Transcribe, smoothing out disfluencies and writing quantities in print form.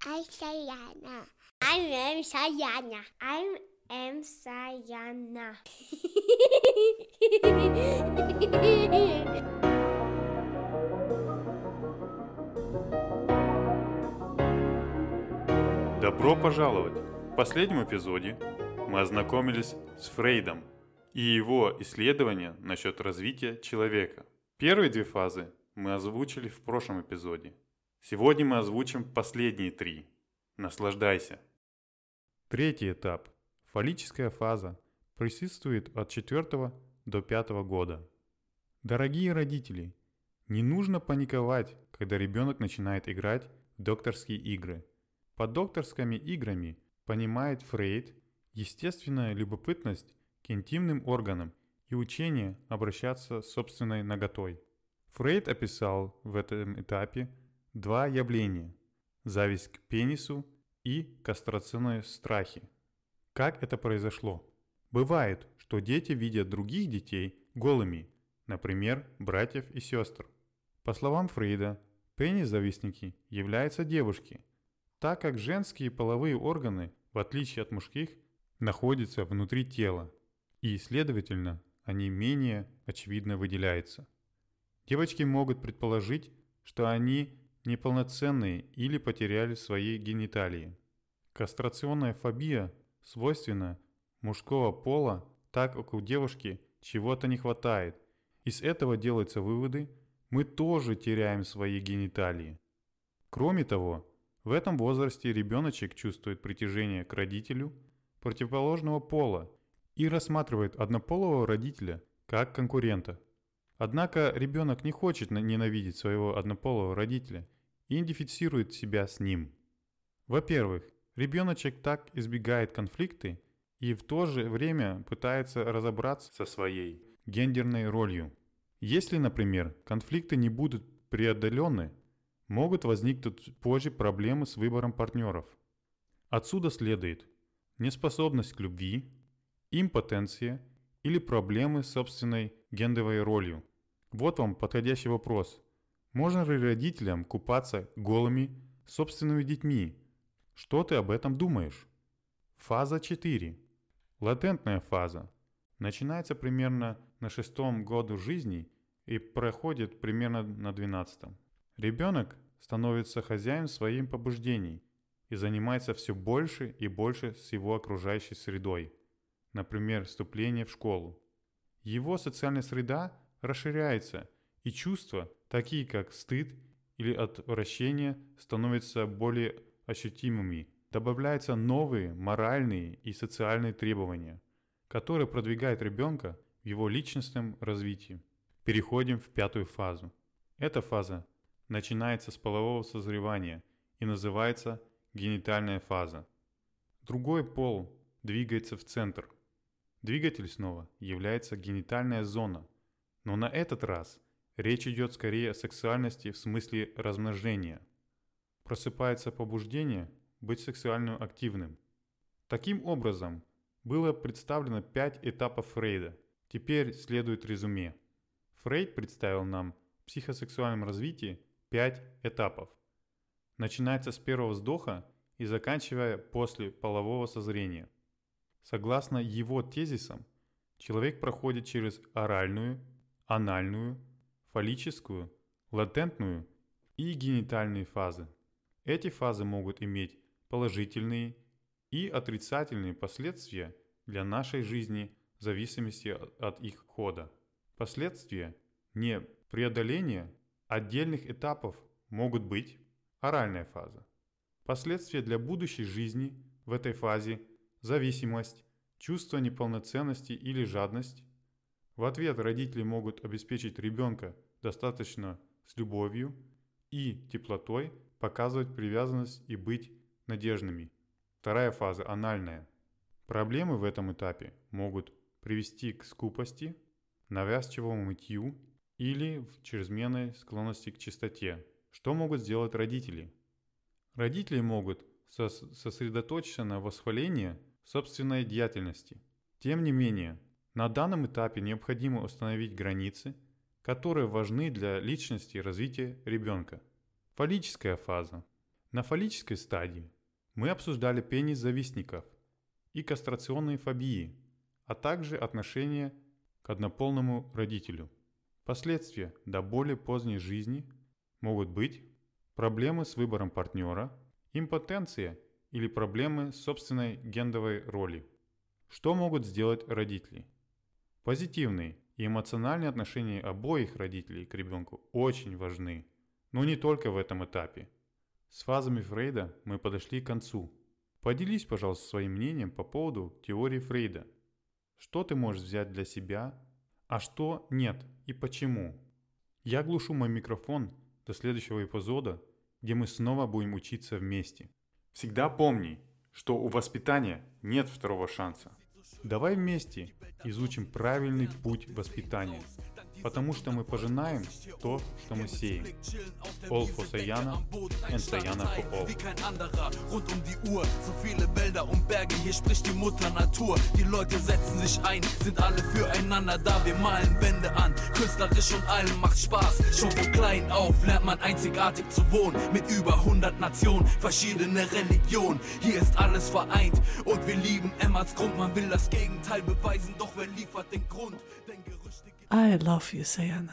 I'm Sayana. I am Sayana. I am Sayana. Добро пожаловать! В последнем эпизоде мы ознакомились с Фрейдом и его исследования насчет развития человека. Первые две фазы мы озвучили в прошлом эпизоде. Сегодня мы озвучим последние три. Наслаждайся! Третий этап – фаллическая фаза – присутствует от 4 до 5 года. Дорогие родители, не нужно паниковать, когда ребенок начинает играть в докторские игры. Под докторскими играми понимает Фрейд естественная любопытность к интимным органам и учение обращаться с собственной наготой. Фрейд описал в этом этапе два явления – зависть к пенису и кастрационные страхи. Как это произошло? Бывает, что дети видят других детей голыми, например, братьев и сестр. По словам Фрейда, пенис-завистники являются девушки, так как женские половые органы, в отличие от мужских, находятся внутри тела, и, следовательно, они менее очевидно выделяются. Девочки могут предположить, что они неполноценные или потеряли свои гениталии. Кастрационная фобия свойственна мужского пола, так как у девушки чего-то не хватает. Из этого делаются выводы: мы тоже теряем свои гениталии. Кроме того, в этом возрасте ребеночек чувствует притяжение к родителю противоположного пола и рассматривает однополого родителя как конкурента. Однако ребенок не хочет ненавидеть своего однополого родителя и идентифицирует себя с ним. Во-первых, ребеночек так избегает конфликты и в то же время пытается разобраться со своей гендерной ролью. Если, например, конфликты не будут преодолены, могут возникнуть позже проблемы с выбором партнеров. Отсюда следует неспособность к любви, импотенция или проблемы с собственной гендерной ролью. Вот вам подходящий вопрос. Можно ли родителям купаться голыми собственными детьми? Что ты об этом думаешь? Фаза 4. Латентная фаза. Начинается примерно на 6-м году жизни и проходит примерно на 12-м. Ребенок становится хозяином своих побуждений и занимается все больше и больше с его окружающей средой, например, вступление в школу. Его социальная среда расширяется, и чувства, такие как стыд или отвращение, становятся более ощутимыми. Добавляются новые моральные и социальные требования, которые продвигают ребенка в его личностном развитии. Переходим в 5-ю фазу. Эта фаза начинается с полового созревания и называется генитальная фаза. Другой пол двигается в центр. Двигатель снова является генитальная зона, но на этот раз речь идет скорее о сексуальности в смысле размножения. Просыпается побуждение быть сексуально активным. Таким образом, было представлено 5 этапов Фрейда. Теперь следует резюме. Фрейд представил нам в психосексуальном развитии 5 этапов. Начинается с первого вздоха и заканчивая после полового созрения. Согласно его тезисам, человек проходит через оральную, анальную, фаллическую, латентную и генитальные фазы. Эти фазы могут иметь положительные и отрицательные последствия для нашей жизни в зависимости от их хода. Последствия непреодоления отдельных этапов могут быть: оральная фаза. Последствия для будущей жизни в этой фазе – зависимость, чувство неполноценности или жадность. В ответ родители могут обеспечить ребенка достаточно с любовью и теплотой, показывать привязанность и быть надежными. Вторая фаза – анальная. Проблемы в этом этапе могут привести к скупости, навязчивому мытью или в чрезмерной склонности к чистоте. Что могут сделать родители? Родители могут сосредоточиться на восхвалении собственной деятельности. Тем не менее, на данном этапе необходимо установить границы, которые важны для личности и развития ребенка. Фаллическая фаза. На фаллической стадии мы обсуждали пенис завистников и кастрационные фобии, а также отношение к однополному родителю. Последствия до более поздней жизни могут быть проблемы с выбором партнера, импотенция или проблемы с собственной гендерной роли. Что могут сделать родители? Позитивные и эмоциональные отношения обоих родителей к ребенку очень важны, но не только в этом этапе. С фазами Фрейда мы подошли к концу. Поделись, пожалуйста, своим мнением по поводу теории Фрейда. Что ты можешь взять для себя, а что нет и почему? Я глушу мой микрофон до следующего эпизода, где мы снова будем учиться вместе. Всегда помни, что у воспитания нет второго шанса. Давай вместе изучим правильный путь воспитания, потому что мы пожинаем то, что мы сеем. All for Sayana and Sayana for all. Wie kein anderer, rund um die Uhr. So viele Wälder und Berge, hier spricht die Mutter Natur. Die Leute setzen sich ein, sind alle füreinander da. Wir malen Wände an, künstlerisch und allem macht Spaß. Schon von klein auf lernt man einzigartig zu wohnen. Mit über 100 Nationen, verschiedene Religionen. Hier ist alles vereint und wir lieben Emmertsgrund. Man will das Gegenteil beweisen, doch wer liefert den Grund? Denn Gerüchte I love you, Sayana.